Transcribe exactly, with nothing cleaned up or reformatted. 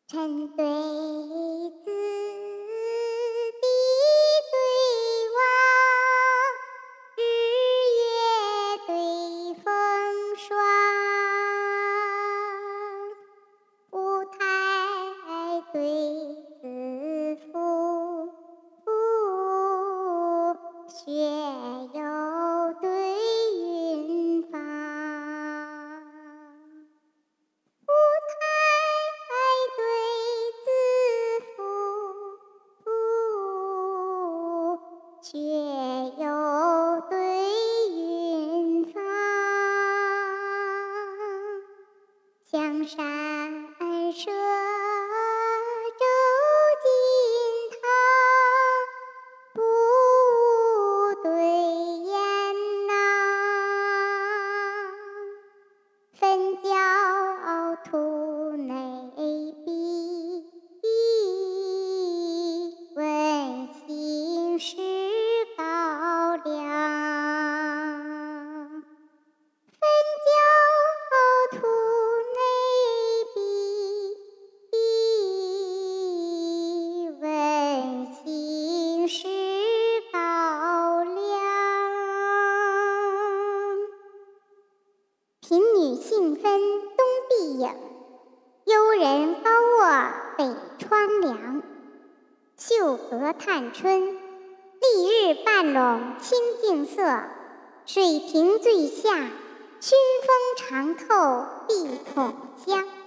臣对子，弟对娃，日月对风霜。五台对子妇，学友对云芳。五台对子妇，学友对云芳。香山社周金堂，不无对雁囊。焚教图内壁，问心是高粱。焚教图内壁，问心是高粱。贫女杏分东壁影，幽人高卧北窗凉。绣阁探春，丽日半笼清净色。水亭醉下，熏风长透碧筒香。